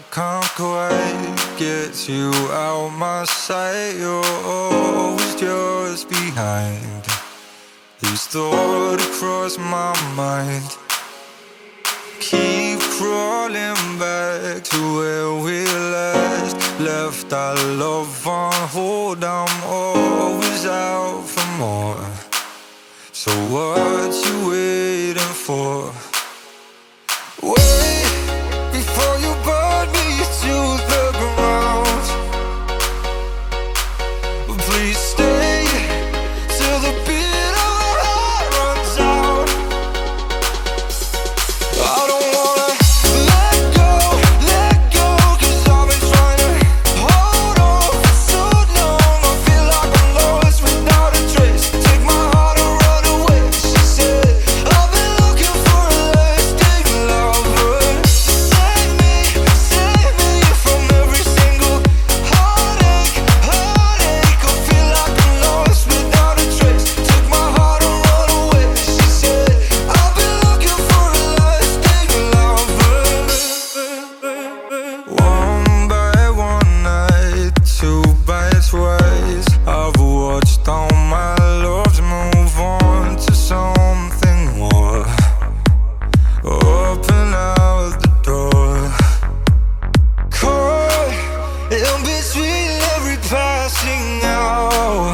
can't quite get you out my sight. You're always just behind. These thoughts across my mind keep crawling back to where we last left our love on hold. I'm always out for more. So what you waiting for? Wait before you burn me to the ground. Please stay till the beat of my heart runs out. I don't wanna let go, 'cause I've been trying to hold on for so long. I feel like I'm lost without a trace. Take my heart and run away, she said. I've been looking for a lasting lover. Save me from every single heartache. I feel like I'm lost without a trace. Take my heart and run away, she said. I've been looking for a lasting lover. One by one night, two by twice, I've watched all my loves move on to something more. Open out the door. Caught in between every passing hour.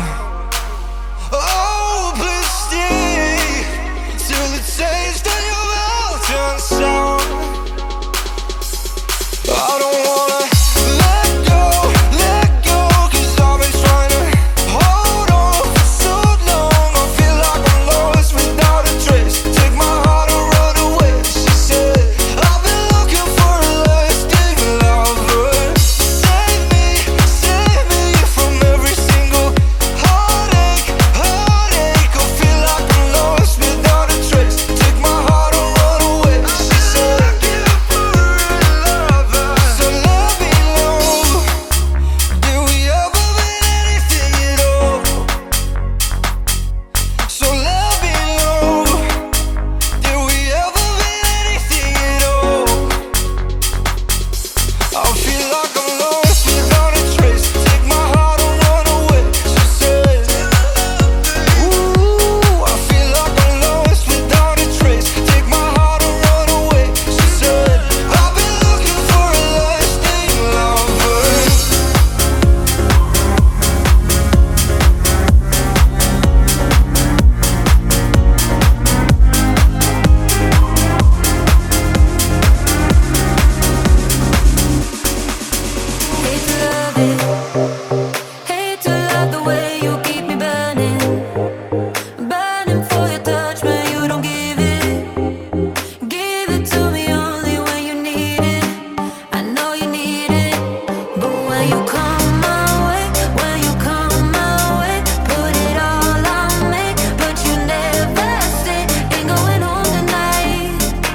Oh, please stay till the taste of your mouth turns sour. I don't wanna let go, 'cause I've been trying to hold on for so long. I feel like I'm lost without a trace. Take my heart and run away, she said. I've been looking for a lasting lover. Save me from every single heartache. I feel like I'm lost without a trace. Take my heart and run away, she said. So let me know, did we ever mean anything at all? So let me know, did we ever mean anything at all? I feel like I'm lost without a trace. Take my heart and run away, she said. Ooh, I feel like I'm lost without a trace. Take my heart and run away, she said. I've been looking for a lasting lover. Hate to love it, hate to love the way you keep me burning, burning for your touch when you don't give it to me only when you need it. I know you need it, but when you come my way, put it all on me, but you never stay. Ain't going home tonight,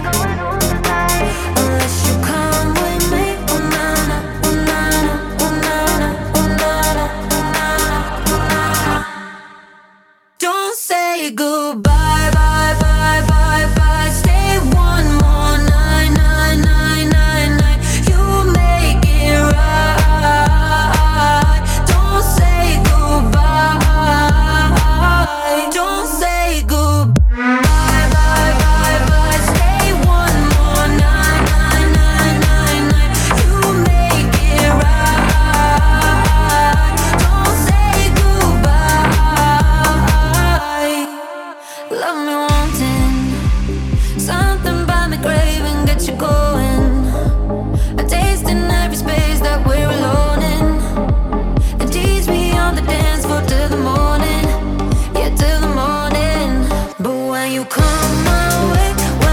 unless you come with me. Oh na na, oh na na, oh na na, oh na na, oh na na. Don't say goodbye, bye, bye, bye, bye. Stay one more night, night, night, night, night. You make it right. Don't say goodbye. Don't say goodbye, bye, bye, bye. Stay one more night, night, night, night, night. You make it right. Don't say goodbye. Love me wanting something by me craving, get you going. A taste in every space that we're alone in. And tease me on the dance floor till the morning, yeah, till the morning. But when you come my way,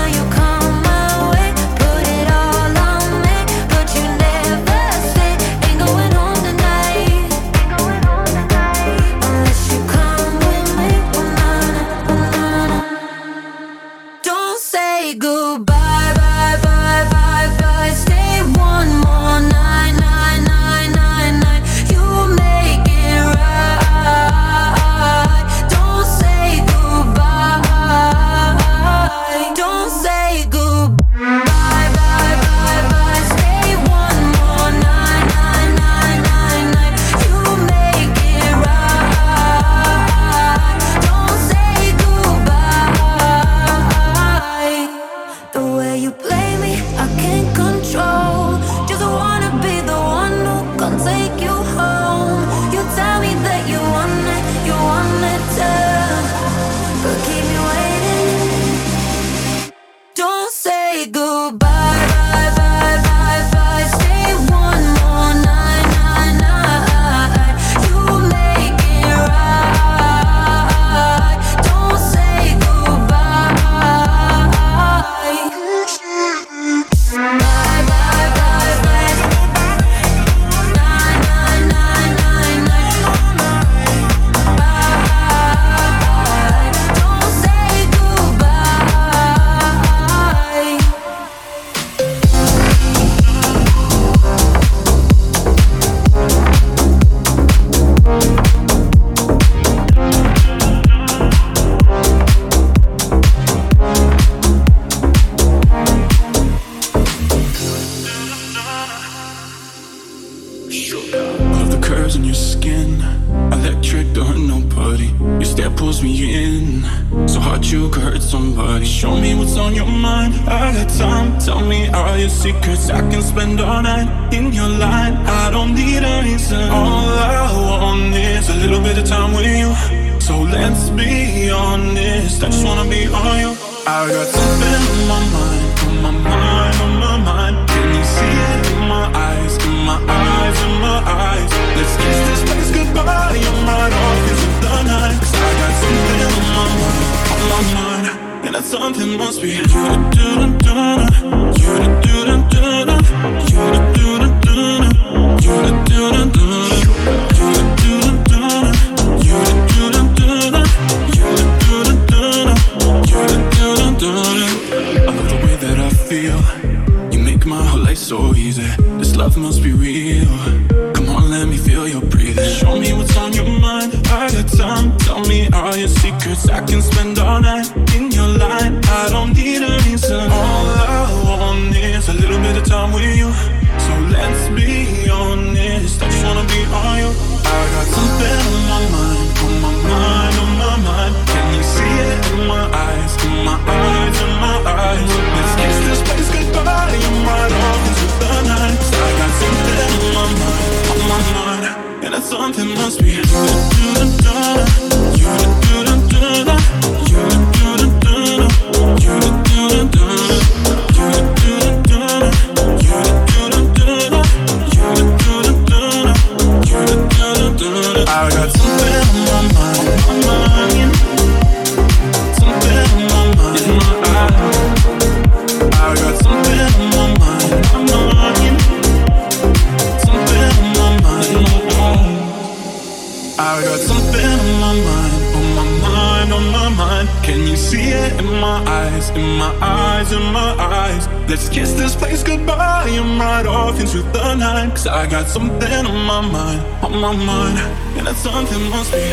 put it all on me, but you never stay. Ain't going home tonight, unless you come with me. Oh na na, oh na na. Don't say goodbye, bye, bye, bye, bye. Stay one more night, night, night, night, night. You make it right. Don't say goodbye. Don't say goodbye, bye, bye, bye. Stay one more say goodbye, bye, bye, bye, bye. Stay one more night, night, night. You make it right. Don't say goodbye. Bye, bye, bye, bye. Night, night, night, night, night. Bye. Don't say goodbye. Love the curves in your skin, electric, don't hurt nobody. Your stare pulls me in, so hard you could hurt somebody. Show me what's on your mind, I got time. Tell me all your secrets, I can spend all night in your line. I don't need a reason, all I want is a little bit of time with you. So let's be honest, I just wanna be on you. I got something on my mind, on my mind, on my mind. Can you see it in my eyes, in my eyes, in my eyes? Let's kiss this place goodbye, I'm right off into the night. 'Cause I got something on my mind, on my mind. And that something must be you to do da da, you to do da da, you to do da da, you to do da da, you to do da da, you to do da da, you to do da da, you to do da da. I love the way that I feel. You make my whole life so easy. This love must be real. Come on, let me feel your breathing. Show me what's on your mind, I got time. Tell me all your secrets, I can spend all night in your line. I don't need a reason, all I want is a little bit of time with you. So let's be honest, I just wanna be on you. I got something on my mind, on my mind, on my mind. Can you see it in my eyes, in my eyes, in my eyes? Let's kiss this place goodbye, I'm right off into the night. 'Cause I got something on my mind, on my mind. And that something must be you to do da da, you to do da da, you to do da da, you to do da da, you to do da da, you to do da da, you to do da da, you to do da da. I got something on my mind, on my mind. Something on my mind, in my eyes. I got something on my mind, on my mind. Something on my mind, in my eyes. I got something on my mind, on my mind, on my mind. Can you see it in my eyes, in my eyes, in my eyes? Let's kiss this place goodbye, I'm right off into the night. 'Cause I got something on my mind, on my mind. And that something must be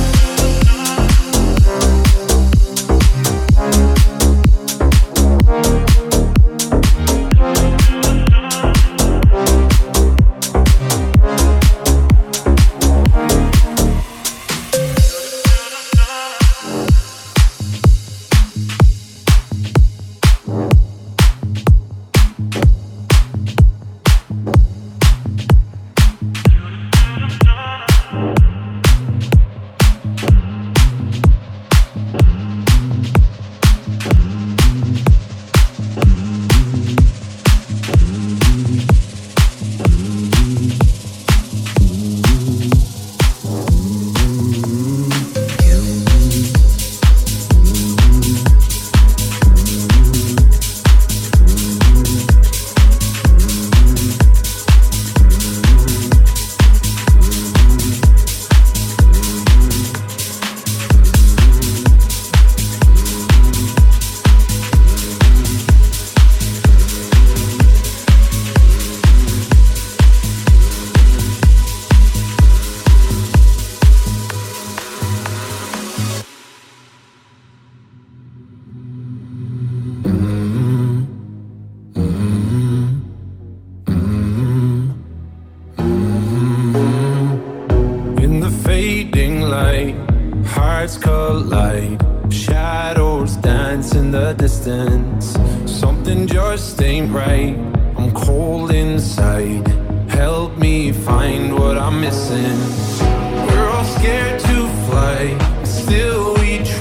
hearts collide, shadows dance in the distance. Something just ain't right, I'm cold inside. Help me find what I'm missing. We're all scared to fly, still we try.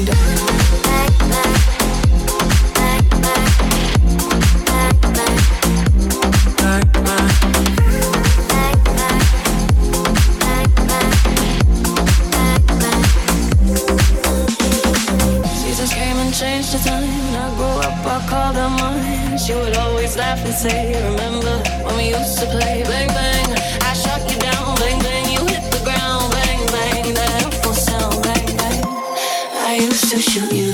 me down. Changed the time. I grew up, I called her mine. She would always laugh and say, remember when we used to play bang bang. I shot you down, bang bang. You hit the ground, bang bang. That helpful sound, bang bang. I used to shoot you.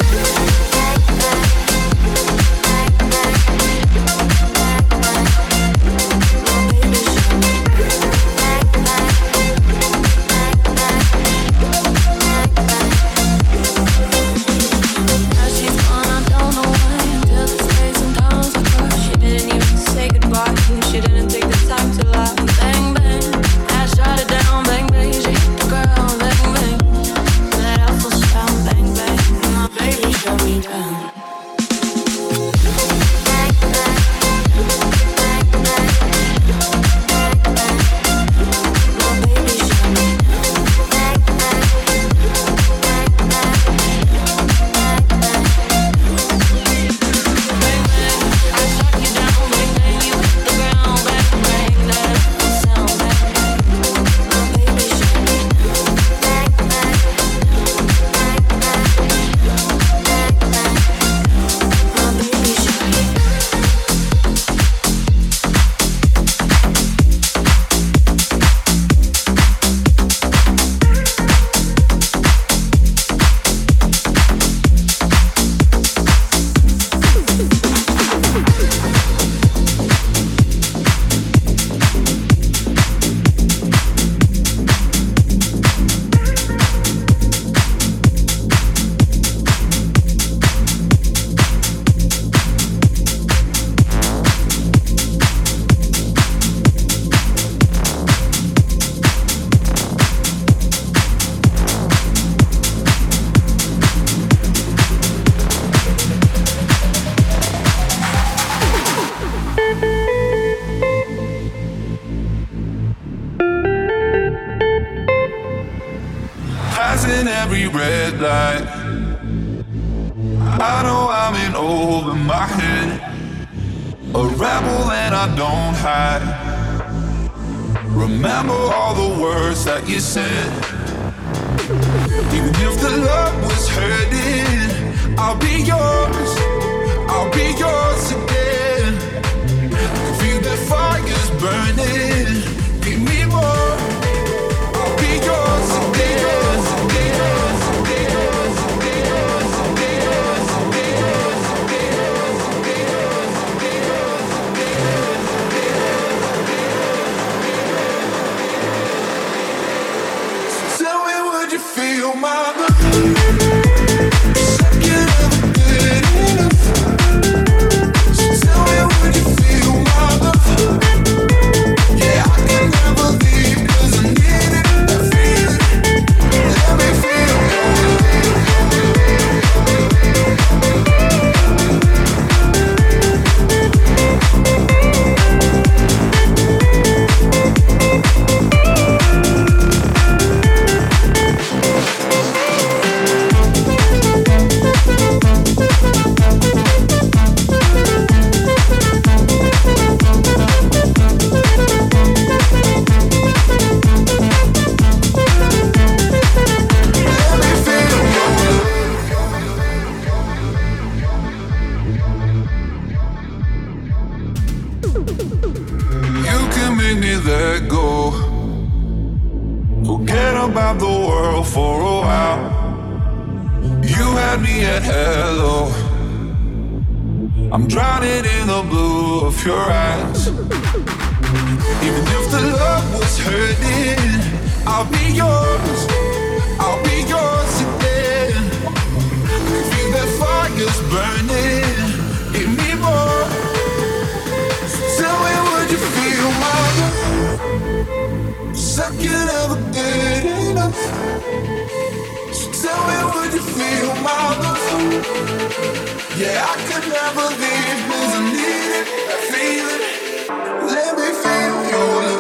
Yeah, I could never leave 'cause I need it, I feel it. Let me feel your love.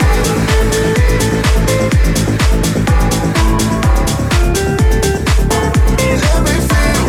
Let me feel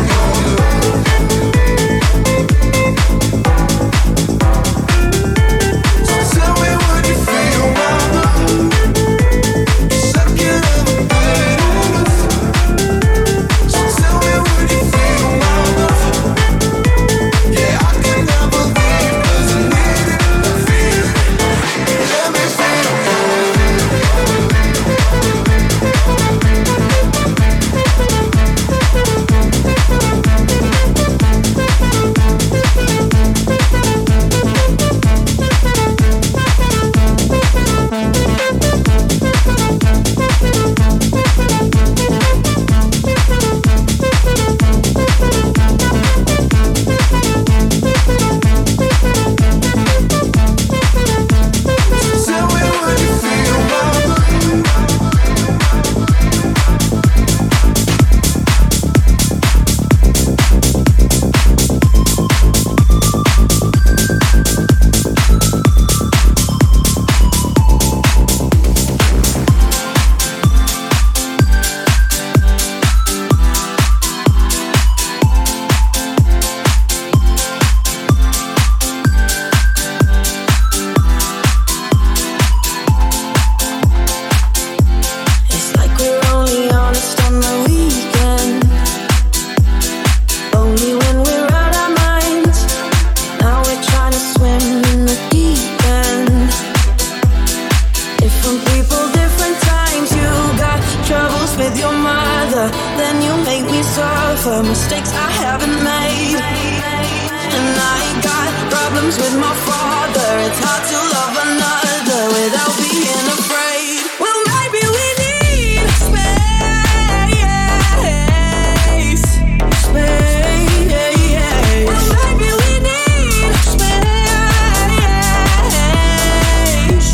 mistakes I haven't made. And I ain't got problems with my father. It's hard to love another without being afraid. Well, maybe we need space. Space. Well, maybe we need space.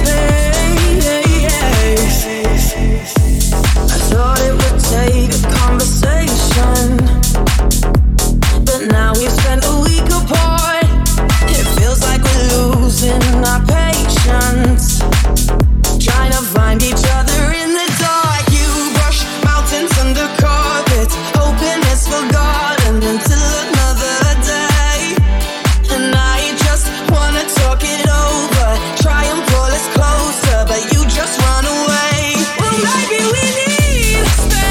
Space. I thought it would take a conversation, but now we've spent a week apart. It feels like we're losing our patience, trying to find each other in the dark. You brush mountains under carpets, hoping it's forgotten until another day. And I just wanna talk it over, try and pull us closer, but you just run away. Well, maybe we need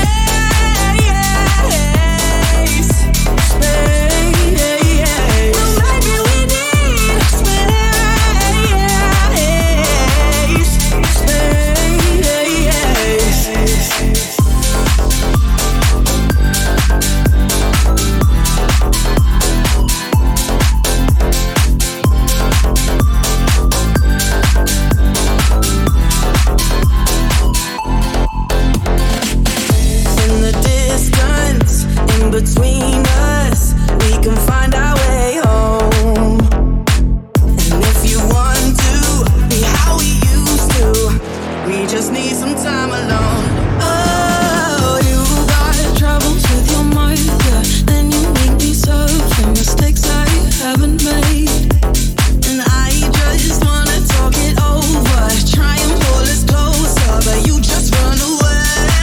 space. Space. Well, maybe we need space. Space. In the distance, in between us, we can find our way home. And if you want to be how we used to, we just need some time alone. Oh, you got troubles with your mother, then you make me suffer mistakes I haven't made. And I just wanna talk it over, try and pull us closer, but you just run away.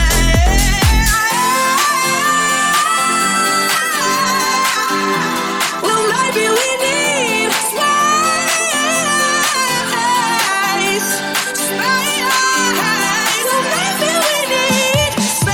Well, maybe we need space. Space. Well, maybe we need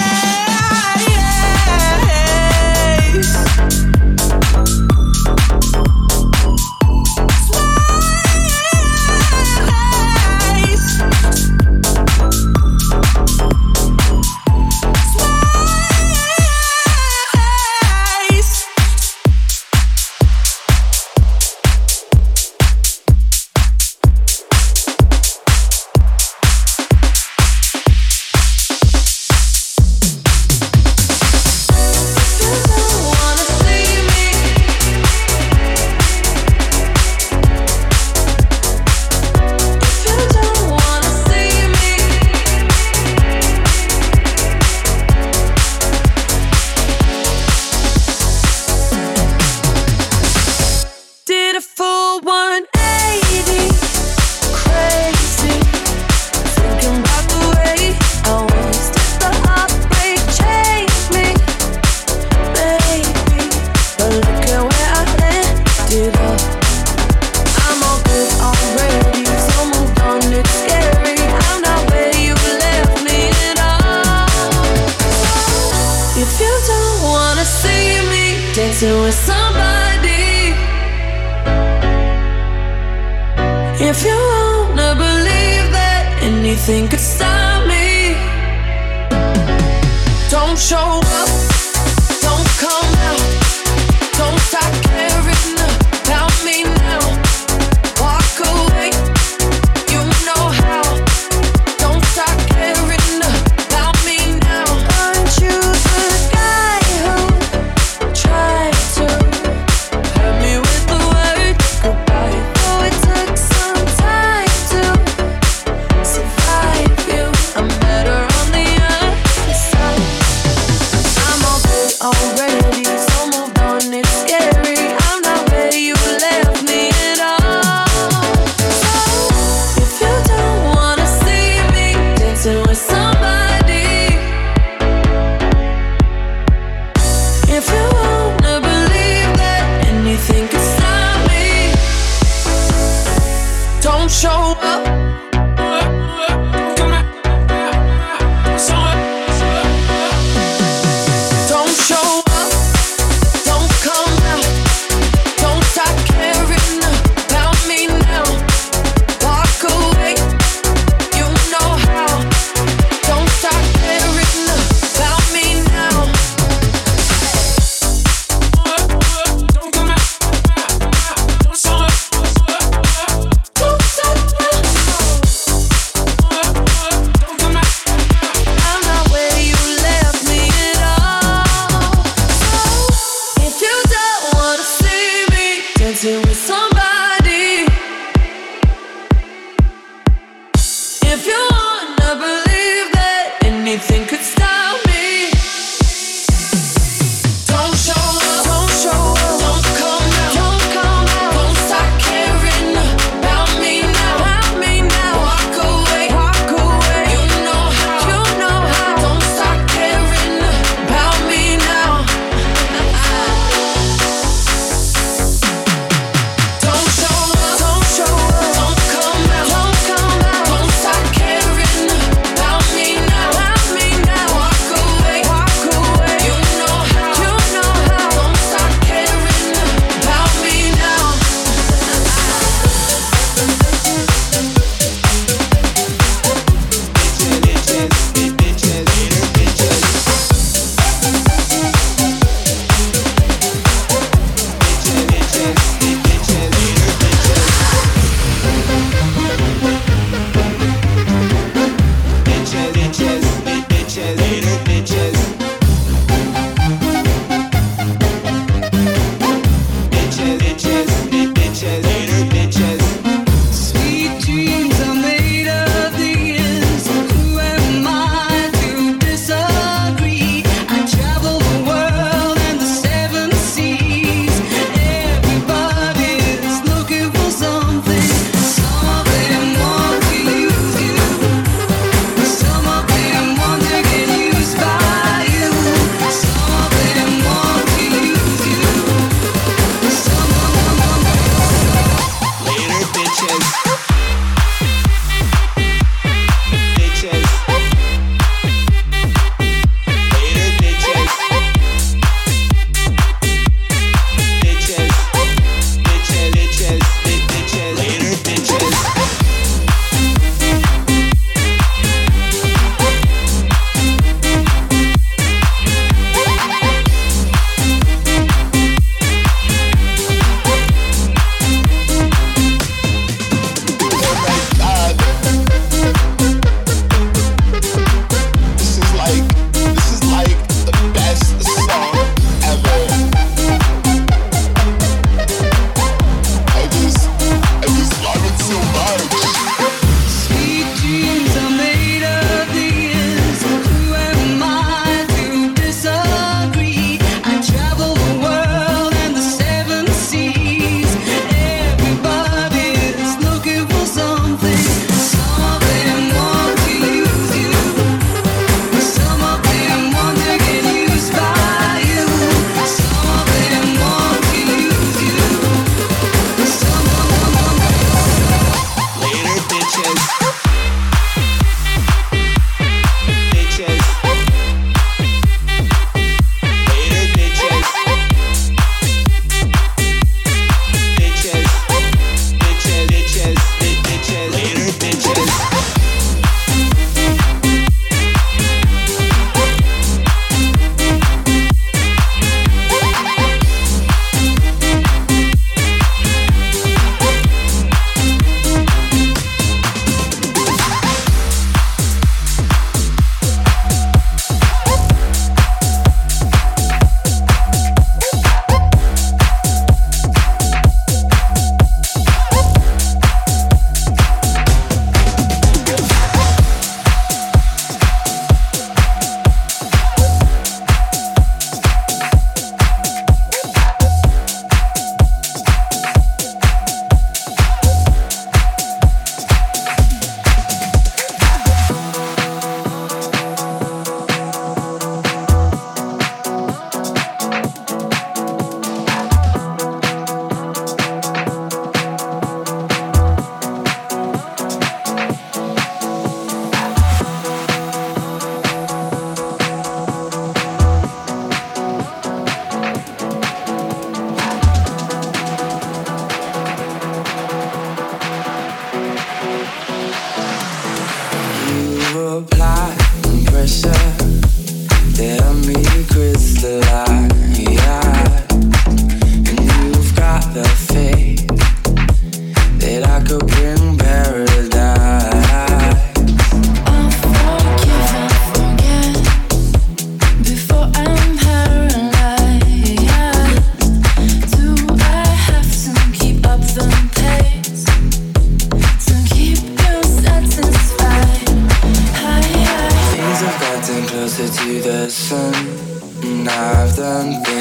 did a full 180, crazy, thinking about the way I was. Did the heartbreak change me, baby? But look at where I ended up. I'm all good already, so moved on, it's scary. I'm not where you left me at all. If you don't wanna see me dancing with somebody, if you wanna believe that anything could stop me, don't show up, don't come out, don't start caring about me now. Walk away, you know how. Don't start caring about me now. Aren't you the guy who tried to hurt me with the word goodbye? Though it took some time to survive you, I'm better on the other side. I'm all good already, so moved on, it's scary. I'm not where you left me at all. So if you don't wanna see me dancing with somebody, if you wanna believe that anything could stop me, don't show up. Don't show up, don't come out, don't start caring about me now. Walk away, you know how. Don't start caring about me now.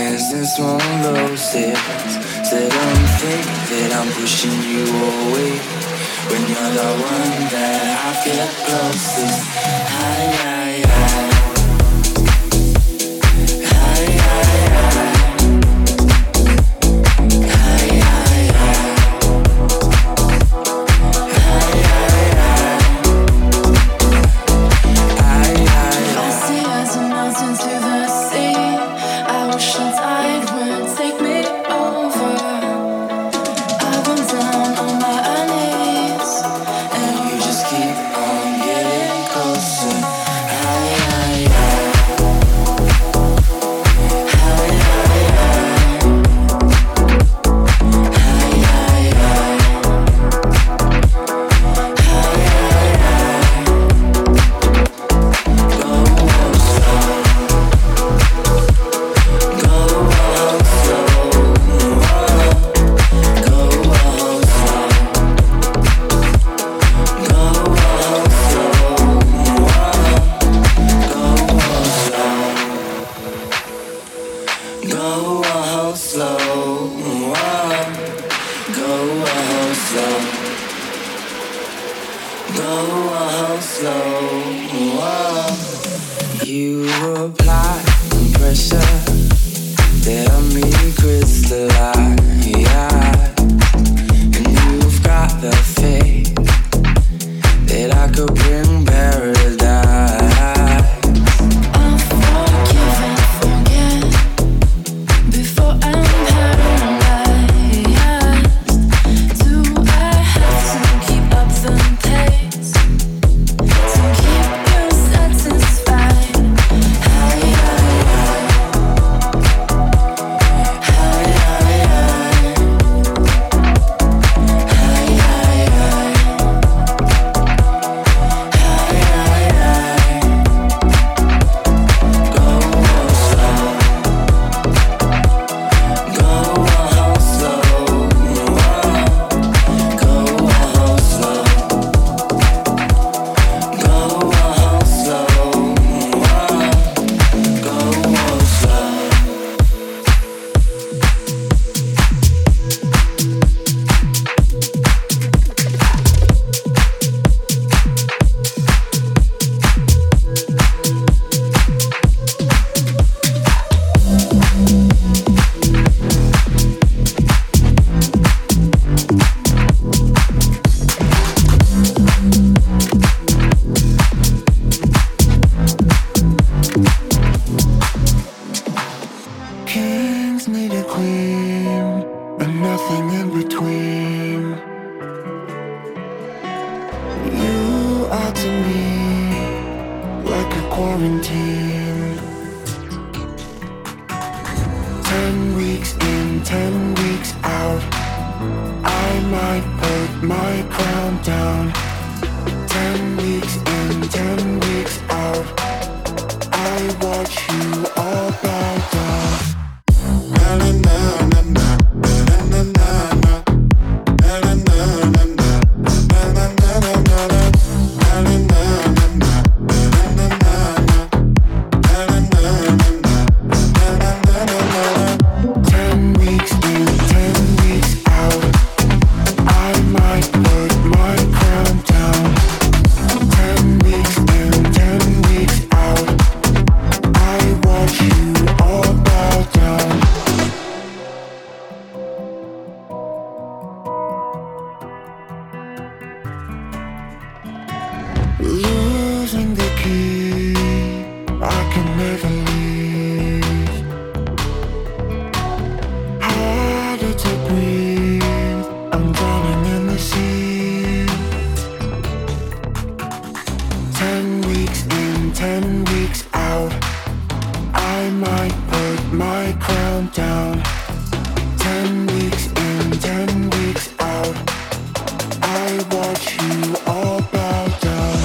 hands and small roses. Said I'm fake, that I'm pushing you away. When you're the one that I feel closest. Hi, hi, hi. Hi, hi, hi. Hi, hi, hi. Hi, hi, hi. Hi, hi, hi. I see as a mountain to the sea. I wish the tide would take me over. I've been down on my knees, And you just keep on getting closer. Hi, hi, hi. Hi, hi, hi. Hi, hi, hi. Hi, hi, hi. Go slow. Go slow. Go slow. Go slow, go slow, go slow. You apply pressure that me crystallize, and you've got the faith that I could bring paradise. I'll forgive and forget before I'm paralyzed. Do I have to keep up the pace to keep you satisfied? Hi, hi, hi. Hi, hi, hi. Hi, hi, hi. Hi, hi, hi. Go slow. Go slow. Go slow. Go slow. Go slow. Kings need a queen, but nothing in between. You are to me like a quarantine. 10 weeks in, 10 weeks out. I might put my crown down. 10 weeks in, 10 weeks out. I watch you all bow down. Losing the key, I can never leave. Harder to breathe, I'm drowning in the sea. 10 weeks in, 10 weeks out. I might put my crown down. 10 weeks in, 10 weeks out. I watch you all bow down.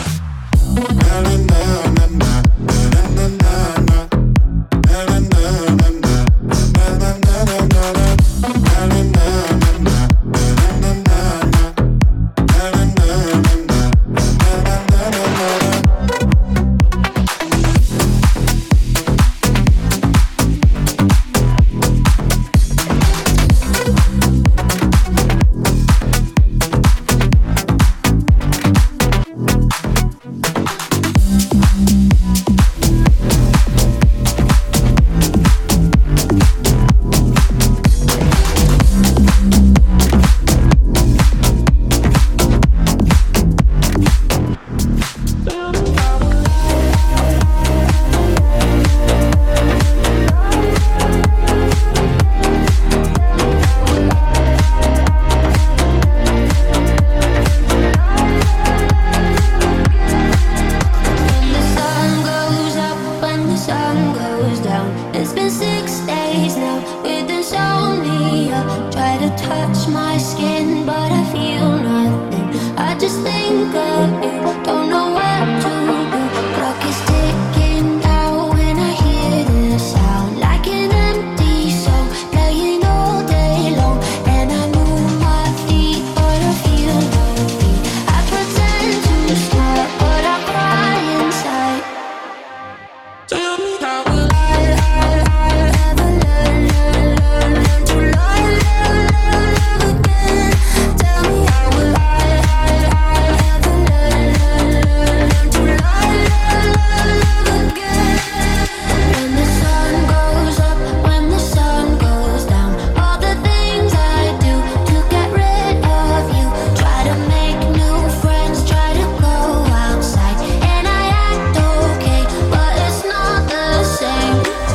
touch my skin, but I feel nothing. I just think of you, don't know what to do. Clock is ticking out when I hear this sound, like an empty song playing all day long. And I move my feet, but I feel no beat. I pretend to smile, but I cry inside. Tell me how will I Ever learn to love again? Tell me how will I ever learn to love again? When the sun goes up, when the sun goes down, all the things I do to get rid of you. Try to make new friends, try to go outside, and I act okay, but it's not the same.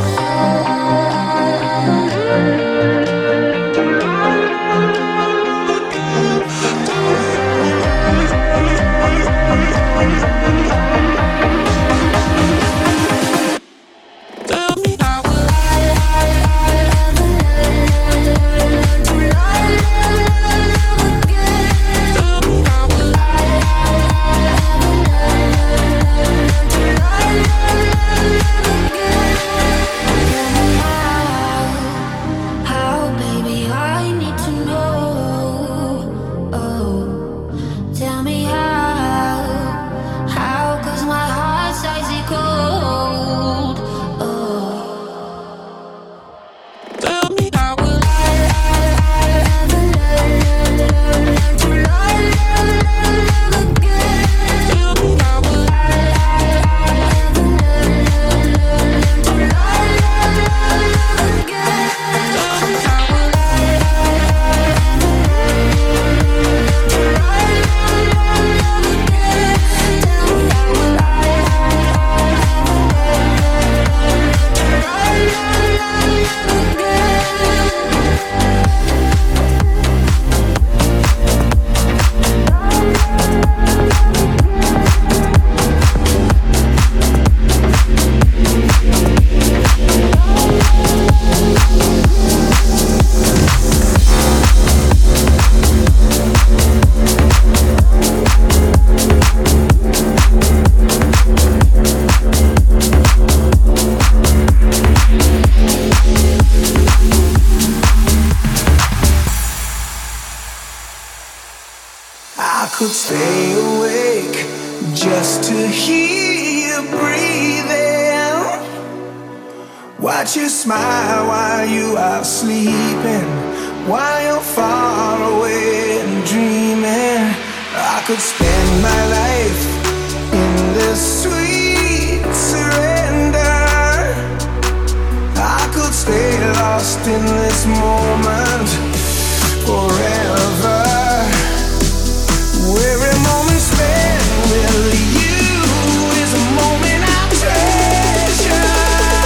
tell me how will Ever learn to love again? tell me how will How, baby, I need to know. Oh, tell me how, 'cause my heart's icy cold. Oh, tell me how will ever learn to love again? tell me how will Ever learn to love again? tell me how will I could stay awake just to hear you breathing. Watch you smile while you are sleeping, while you're far away and dreaming. I could spend my life in this sweet surrender. I could stay lost in this moment forever. Every moment spent with you is a moment I treasure.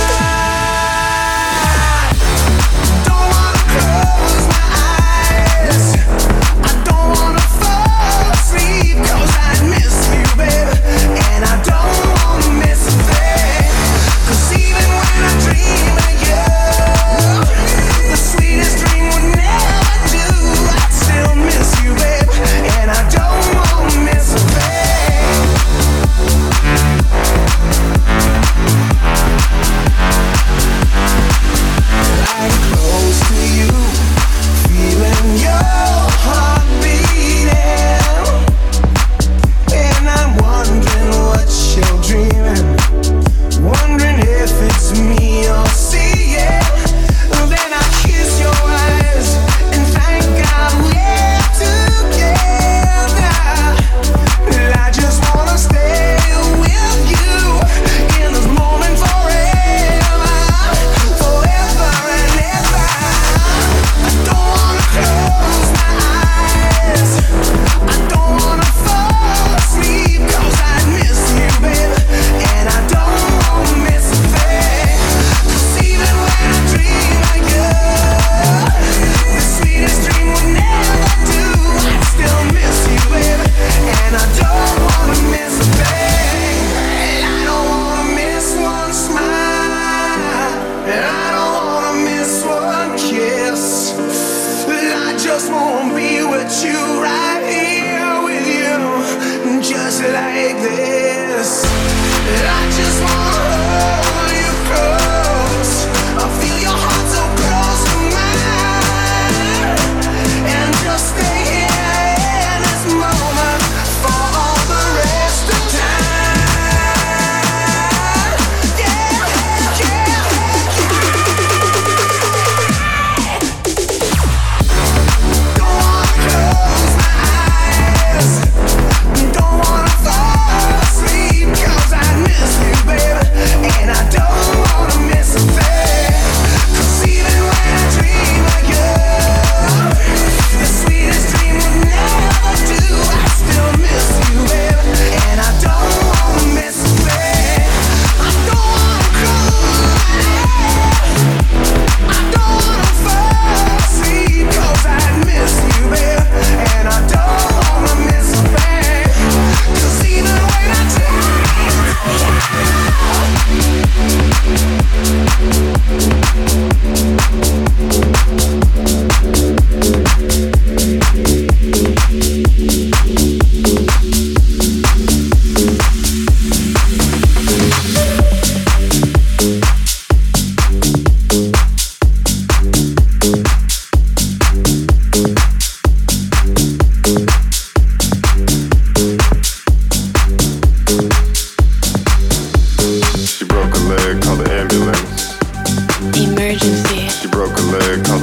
Don't wanna close my eyes, I don't wanna fall asleep, 'cause I miss you, baby, and I don't wanna miss a thing. 'Cause even when I dream of you, the sweetest dream would never do. I still miss you, baby, and I don't want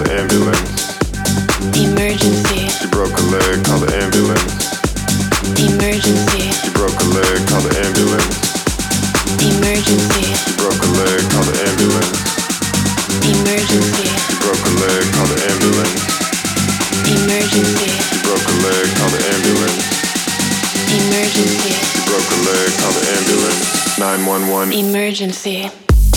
the ambulance. Emergency. You broke a leg, call the ambulance. Emergency. You broke a leg, call the ambulance. Emergency. You broke a leg, call the ambulance. Emergency. You broke a leg, call the ambulance. Emergency. You broke a leg, call the ambulance. Emergency. You broke a leg, call the ambulance. 911. Emergency.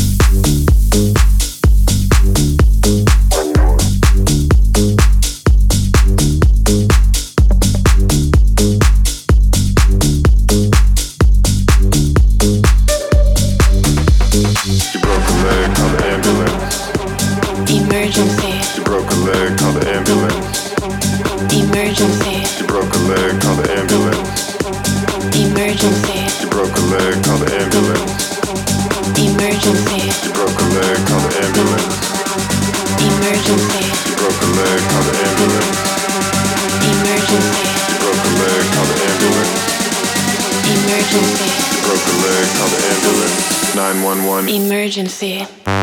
You broke a leg, call the ambulance. Emergency. You broke a leg, call the ambulance. Emergency. You broke a leg, call the ambulance. Emergency. You broke a leg, call the ambulance. Emergency. You broke a leg, call the ambulance. Emergency. You broke a leg, call the ambulance. Emergency. You broke a leg, call the ambulance. Emergency. You broke a leg, call the ambulance. 911. Emergency.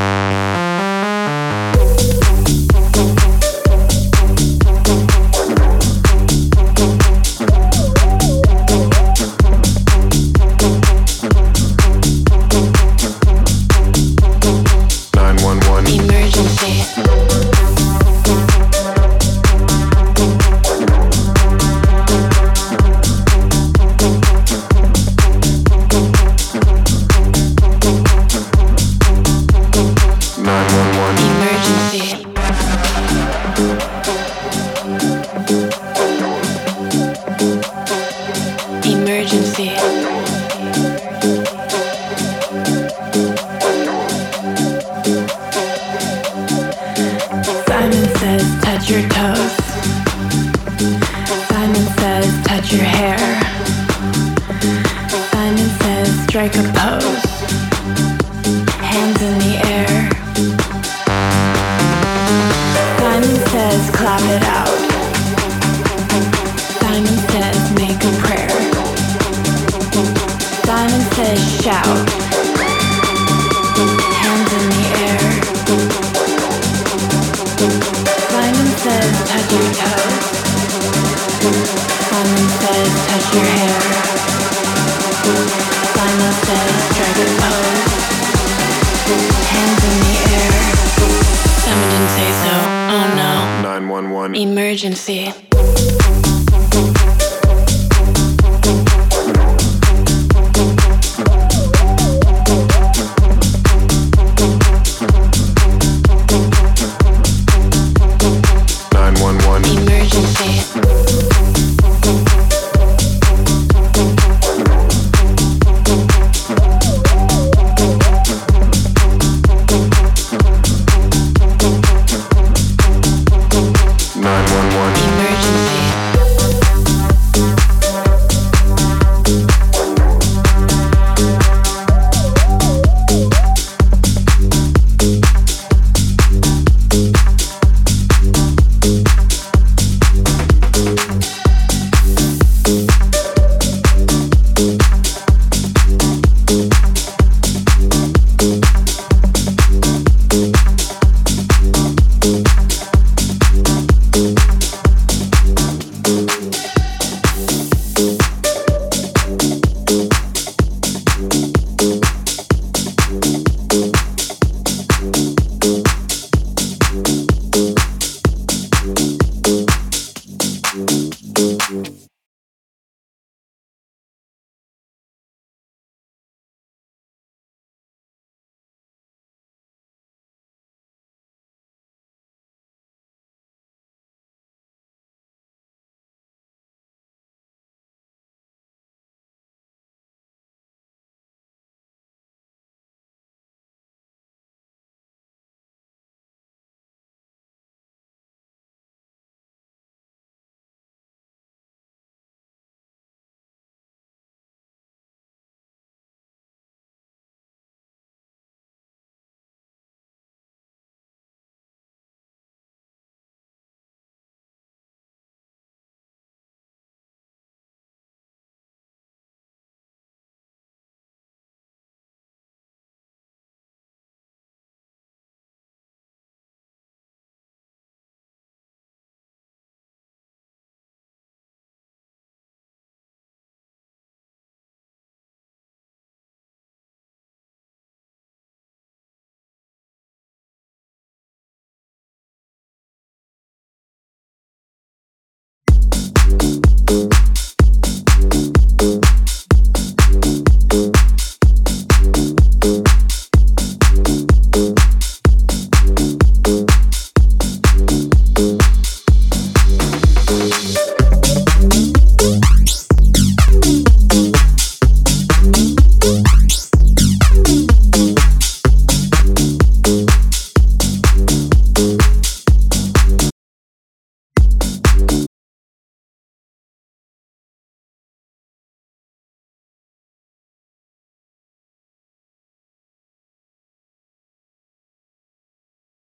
Emergency. Simon says touch your toes. Simon says touch your hair. Simon says strike a pose. Hands in the air. Simon says clap it out. Simon says make a prayer. Simon says shout. Hands in the air. Simon says touch your toes. Simon says touch your hair. Simon says strike a pose. Hands in the air. Simon didn't say so. Oh no. 911. Emergency. Emergency.